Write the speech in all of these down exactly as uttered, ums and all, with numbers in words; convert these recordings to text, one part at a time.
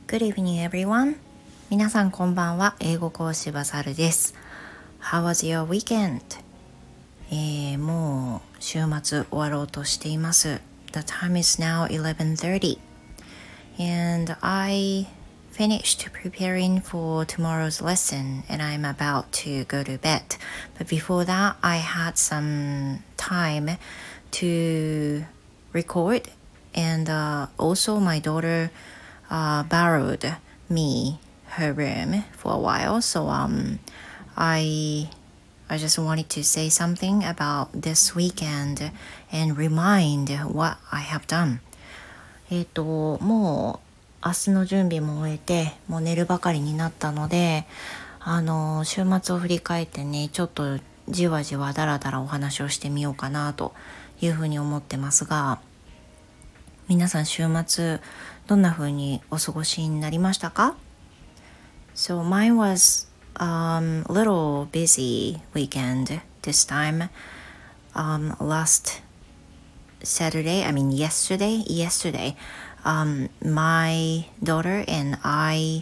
Good evening, everyone. 皆さんこんばんは。英語講師バサルです。How was your weekend? えー、もう週末終わろうとしています。The time is now eleven thirty and I finished preparing for tomorrow's lesson and I'm about to go to bed. But before that, I had some time to record and uh, also my daughter uh, borrowed me her room for a while. So um, I I just wanted to say something about this weekend and remind what I have done. えっと、もう明日の準備も終えて、もう寝るばかりになったので、あの、週末を振り返ってね、ちょっとじわじわだらだらお話をしてみようかなというふうに思ってますが、皆さん週末どんな風にお過ごしになりましたか？ So mine was um, a little busy weekend this time. Um, last Saturday, I mean yesterday, yesterday, um, my daughter and I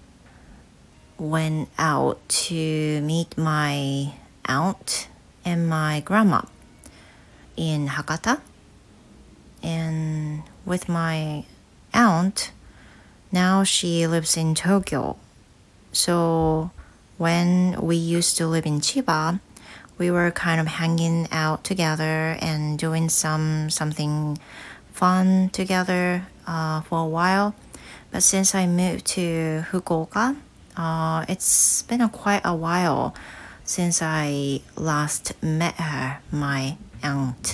went out to meet my aunt and my grandma in Hakata. And with my aunt, now she lives in Tokyo. So when we used to live in Chiba, we were kind of hanging out together and doing some something fun together uh, for a while. But since I moved to Fukuoka, uh, it's been a quite a while since I last met her, my aunt.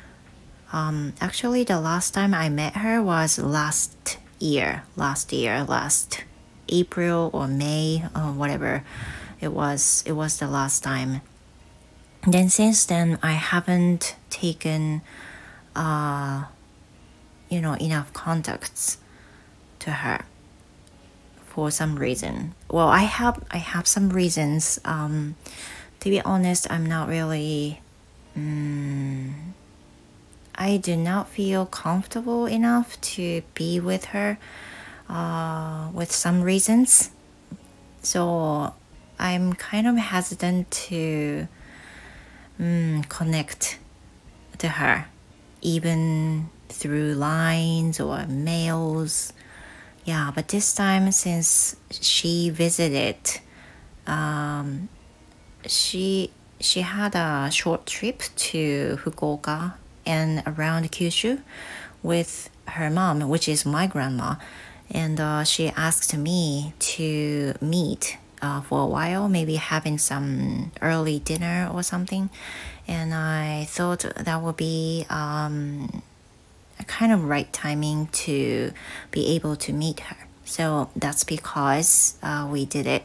Um, actually, the last time I met her was last year, last year, last April or May or whatever it was. It was the last time. Then since then, I haven't taken, uh, you know, enough contacts to her for some reason. Well, I have, I have some reasons. Um, to be honest, I'm not really. Um, I do not feel comfortable enough to be with her uh, with some reasons. So I'm kind of hesitant to um, connect to her, even through lines or mails. Yeah, but this time since she visited, um, she she had a short trip to Fukuoka and around Kyushu with her mom, which is my grandma, and uh, she asked me to meet uh, for a while, maybe having some early dinner or something, and I thought that would be um, a kind of right timing to be able to meet her. So that's because uh, we did it.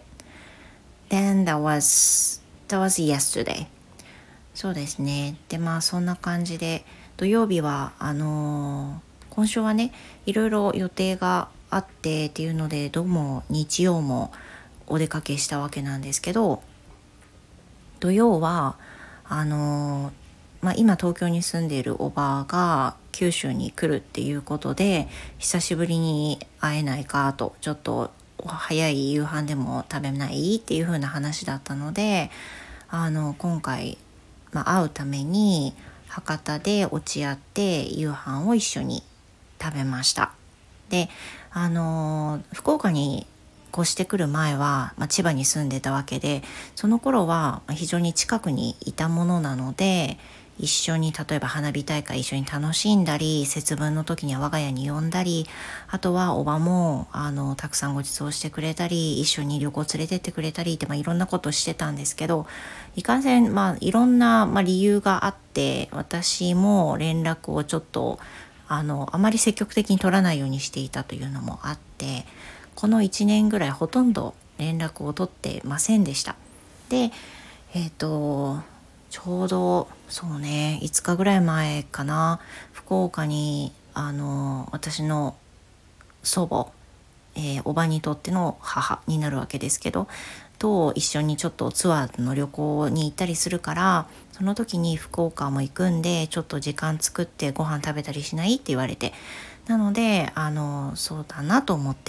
Then that was that was yesterday.そうですね。で、まあそんな感じで土曜日はあのー、今週はねいろいろ予定があってっていうのでどうも日曜もお出かけしたわけなんですけど、土曜はあのー、まあ今東京に住んでいるおばが九州に来るっていうことで久しぶりに会えないかと、ちょっと早い夕飯でも食べないっていう風な話だったので、あの今回まあ、会うために博多で落ち合って夕飯を一緒に食べました。で、あの福岡に越してくる前は、まあ、千葉に住んでたわけで、その頃は非常に近くにいたものなので、一緒に例えば花火大会一緒に楽しんだり、節分の時には我が家に呼んだり、あとはおばもあのたくさんご馳走してくれたり、一緒に旅行連れてってくれたりって、まあ、いろんなことしてたんですけど、いかんせん、まあ、いろんな、まあ、理由があって私も連絡をちょっとあのあまり積極的に取らないようにしていたというのもあって、このいちねんぐらいほとんど連絡を取ってませんでした。で、えっとちょうどそうねいつかぐらい前かな、福岡にあの私の祖母、えー、おばにとっての母になるわけですけどと一緒にちょっとツアーの旅行に行ったりするから、その時に福岡も行くんでちょっと時間作ってご飯食べたりしないって言われて、なのであのそうだなと思って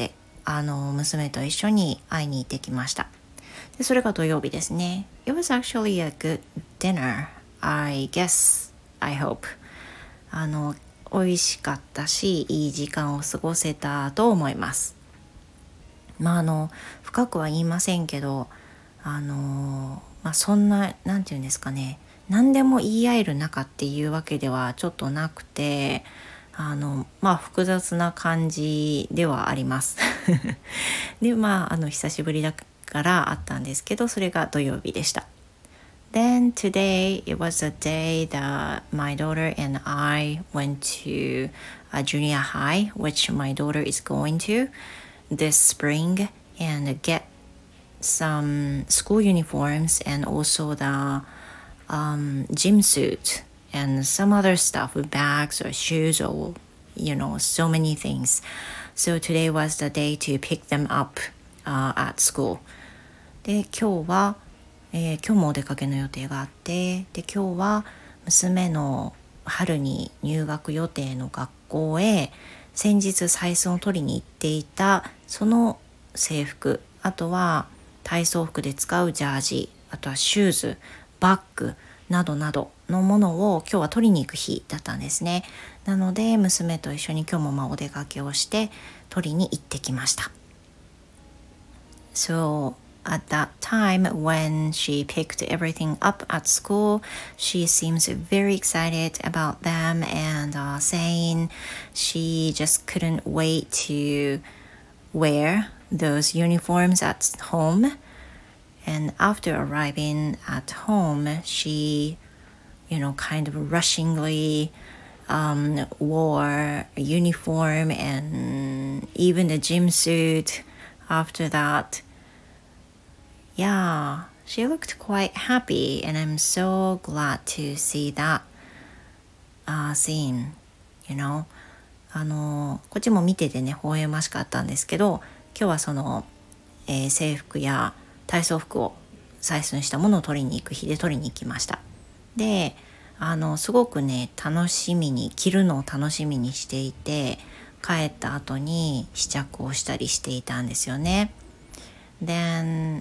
あの娘と一緒に会いに行ってきました。でそれが土曜日ですね。 It was actually a good dinner, I guess, I hope. あの美味しかったしいい時間を過ごせたと思います。まああの深くは言いませんけど、あのまあそんななんていうんですかね、何でも言い合える仲っていうわけではちょっとなくて、あのまあ複雑な感じではありますでまああの久しぶりだからあったんですけど、それが土曜日でした。Then today it was a day that my daughter and I went to a junior high, which my daughter is going to this spring, and get some school uniforms and also the um, gym suit and some other stuff with bags or shoes or you know so many things. So today was the day to pick them up uh, at school. で今日は、えー、今日もお出かけの予定があって、で今日は娘の春に入学予定の学校へ先日採寸を取りに行っていたその制服、あとは体操服で使うジャージ、あとはシューズ、バッグなどなどのものを今日は取りに行く日だったんですね。なので娘と一緒に今日もまあお出かけをして取りに行ってきました。 So at that time when she picked everything up at school, she seems very excited about them and uh, saying she just couldn't wait to wear those uniforms at home. And after arriving at home, she, you know, kind of rushingly um, wore a uniform and even a gym suit after that. Yeah, she looked quite happy, and I'm so glad to see that uh, scene, you know. あのこっちも見ててね微笑ましかったんですけど、今日はその、えー、制服や体操服を採寸したものを取りに行く日で取りに行きました。であのすごくね楽しみに着るのを楽しみにしていて、帰った後に試着をしたりしていたんですよね。 Then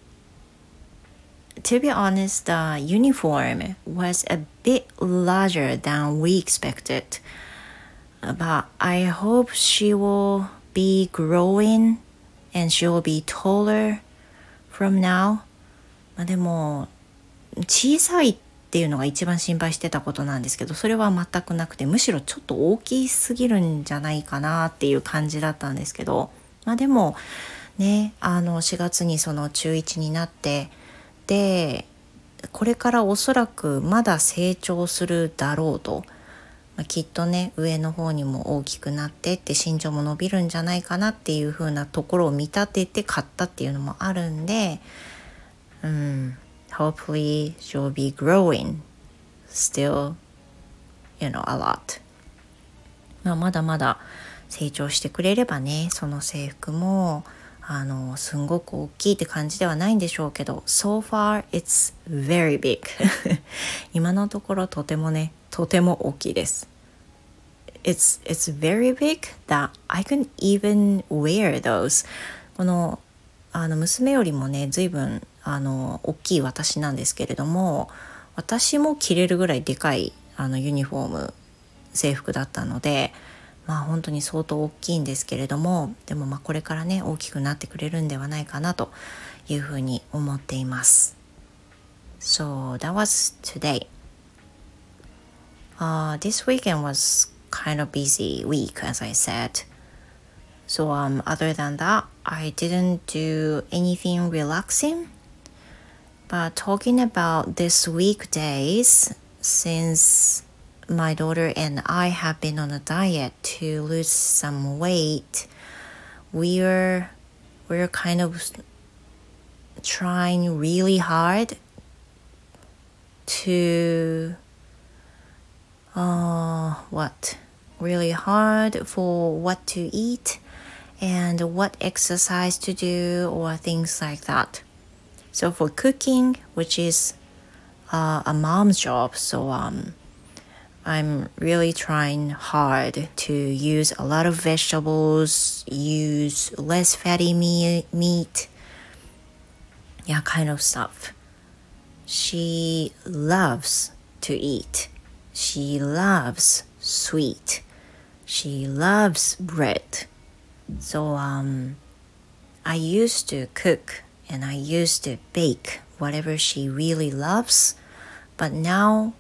to be honest, the uniform was a bit larger than we expected, but I hope she will be growing and she will be taller from now. まあでも小さいっていうのが一番心配してたことなんですけど、それは全くなくて、むしろちょっと大きすぎるんじゃないかなっていう感じだったんですけど、まあでもね、あのしがつにその中いちになって、でこれからおそらくまだ成長するだろうと、まあ、きっとね上の方にも大きくなってって身長も伸びるんじゃないかなっていう風なところを見立てて買ったっていうのもあるんで、うん、hopefully she'll be growing still, you know, a lot. まあ、まだまだ成長してくれればね、その制服もあのすんごく大きいって感じではないんでしょうけど、 So far it's very big 今のところとてもねとても大きいです。 It's, it's very big that I can even wear those. このあの娘よりもね随分あの大きい私なんですけれども、私も着れるぐらいでかいあのユニフォーム制服だったので、まあ本当に相当大きいんですけれども、でもまあこれからね大きくなってくれるんではないかなというふうに思っています。 So that was today. Uh, this weekend was kind of busy week, as I said. So um, other than that, I didn't do anything relaxing. But talking about this weekdays, since my daughter and I have been on a diet to lose some weight, we're we're kind of trying really hard to uh what really hard for what to eat and what exercise to do or things like that. So for cooking, which is uh, a mom's job, so um I'm really trying hard to use a lot of vegetables, use less fatty me- meat, yeah, kind of stuff. She loves to eat. She loves sweet. She loves bread. So um, I used to cook and I used to bake whatever she really loves. But now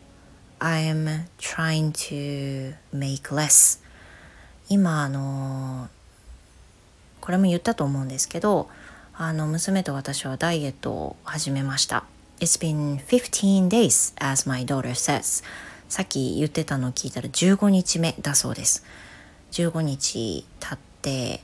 I'm trying to make less. 今あのこれも言ったと思うんですけど、あの娘と私はダイエットを始めました。It's been fifteen days, as my daughter says. さっき言ってたのを聞いたらじゅうごにちめだそうです。じゅうごにち経って、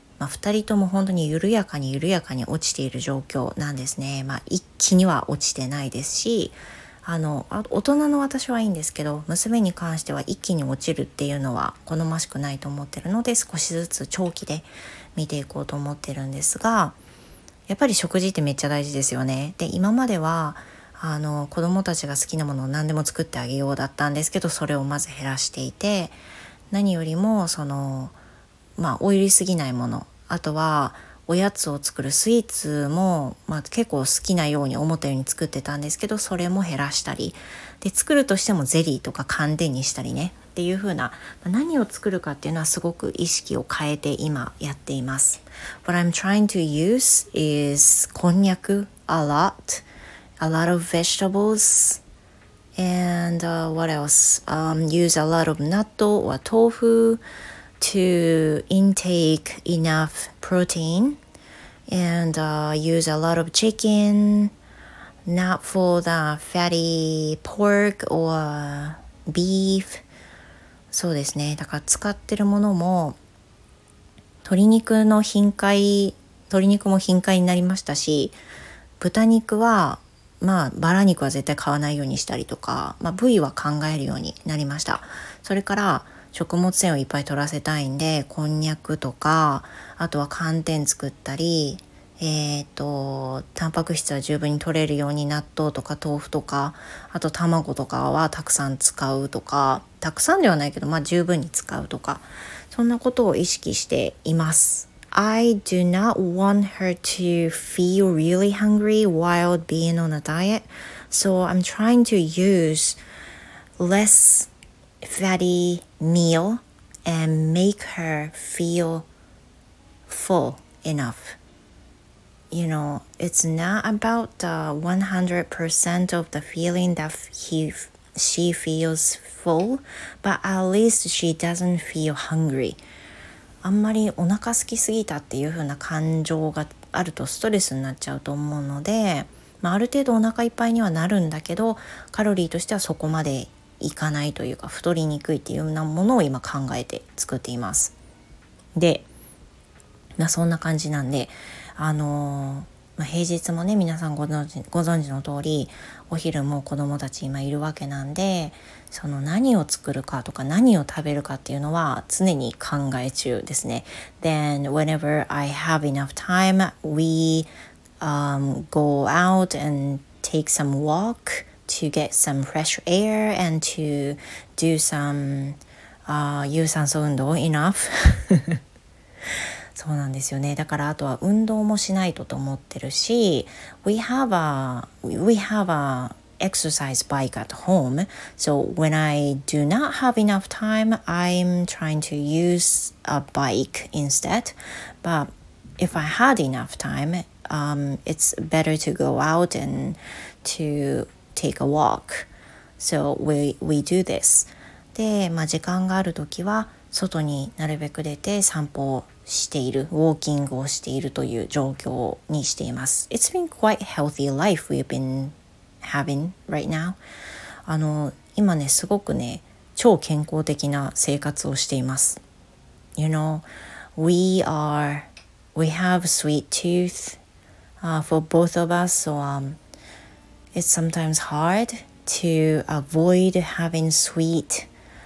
まあ、ふたりとも本当に緩やかに緩やかに落ちている状況なんですね。まあ、一気には落ちてないですし、あの大人の私はいいんですけど、娘に関しては一気に落ちるっていうのは好ましくないと思ってるので、少しずつ長期で見ていこうと思ってるんですが、やっぱり食事ってめっちゃ大事ですよね。で、今まではあの子供たちが好きなものを何でも作ってあげようだったんですけど、それをまず減らしていて、何よりもそのまあオイルすぎないもの、あとはおやつを作るスイーツも、まあ、結構好きなように思ったように作ってたんですけど、それも減らしたりで、作るとしてもゼリーとか寒天にしたりねっていう風な、何を作るかっていうのはすごく意識を変えて今やっています。 What I'm trying to use is こんにゃく a lot, a lot of vegetables and、uh, what else、um, use a lot of 納豆 or 豆腐to intake enough protein and、uh, use a lot of chicken, not for the fatty pork or beef。 そうですね、だから使ってるものも鶏肉の頻回鶏肉も頻回になりましたし、豚肉はまあバラ肉は絶対買わないようにしたりとか、まあ、部位は考えるようになりました。それから食物繊維をいっぱい取らせたいんで、こんにゃくとか、あとは寒天作ったり、えーとタンパク質は十分に取れるように納豆とか豆腐とか、あと卵とかはたくさん使うとか、たくさんではないけど、まあ十分に使うとか、そんなことを意識しています。I do not want her to feel really hungry while being on a diet, so I'm trying to use less fatty meal and make her feel full enough. You know, it's not about the one hundred percent of the feeling that he, she feels full, but at least she doesn't feel hungry. あんまりお腹空きすぎたっていう風な感情があるとストレスになっちゃうと思うので、まあ、ある程度お腹いっぱいにはなるんだけど、カロリーとしてはそこまでいかないというか、太りにくいっていうようなものを今考えて作っています。で、まあ、そんな感じなんで、あのーまあ、平日もね、皆さんご存知、ご存知の通り、お昼も子供たち今いるわけなんで、その何を作るかとか何を食べるかっていうのは常に考え中ですね。Then whenever I have enough time, we、um, go out and take some walk to get some fresh air and to do some、uh, 有酸素運動 enough そうなんですよね。だからあとは運動もしないとと思ってるし、 we have a we have a exercise bike at home, so when I do not have enough time, I'm trying to use a bike instead. But if I had enough time, um, it's better to go out and to take a walk. So we, we do this. で、まあ、時間があるときは外になるべく出て散歩をしている、ウォーキングをしているという状況にしています。It's been quite healthy life we've been having right now. あの、今ね、すごくね、超健康的な生活をしています。You know, we are, we have sweet tooth、uh, for both of us, so um, it's sometimes hard to avoid having sweet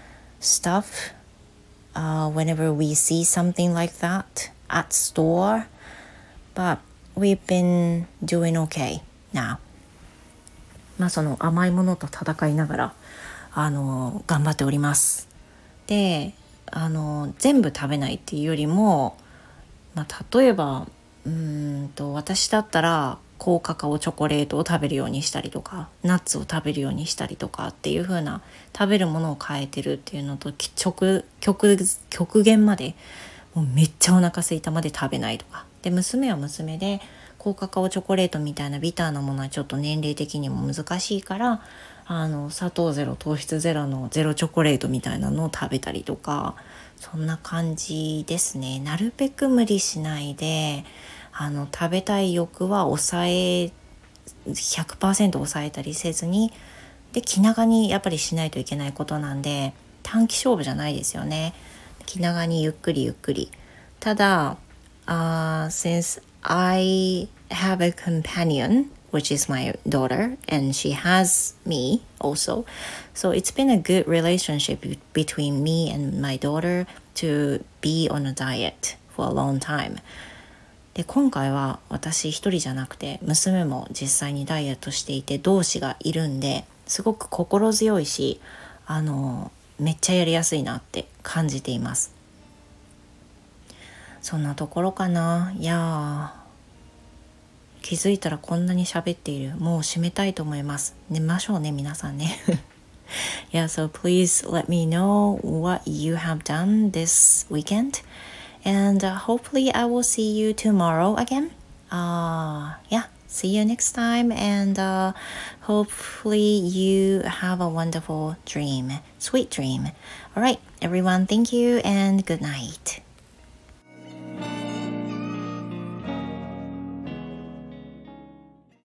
stuff、uh, whenever we see something like that at store, but we've been doing okay now. まあその甘いものと戦いながらあの頑張っております。で、あの全部食べないっていうよりも、まあ、例えばうーんと私だったら高カカオチョコレートを食べるようにしたりとか、ナッツを食べるようにしたりとかっていう風な、食べるものを変えてるっていうのと、極極極限までもうめっちゃお腹空いたまで食べないとかで、娘は娘で高カカオチョコレートみたいなビターなものはちょっと年齢的にも難しいから、あの砂糖ゼロ糖質ゼロのゼロチョコレートみたいなのを食べたりとか、そんな感じですね。なるべく無理しないで、あの食べたい欲は抑え ひゃくパーセント 抑えたりせずに、で気長にやっぱりしないといけないことなんで、短期勝負じゃないですよね。気長にゆっくりゆっくり。ただ、uh, since I have a companion which is my daughter and she has me also, so it's been a good relationship between me and my daughter to be on a diet for a long time. で今回は私一人じゃなくて娘も実際にダイエットしていて同志がいるんで、すごく心強いし、あのめっちゃやりやすいなって感じています。そんなところかな。いや気づいたらこんなに喋っている。もう締めたいと思います。寝ましょうね皆さんね。Yeah, so please let me know what you have done this weekend, and uh, hopefully I will see you tomorrow again. Uh, yeah, see you next time, and uh, hopefully you have a wonderful dream, sweet dream. All right, everyone, thank you and good night.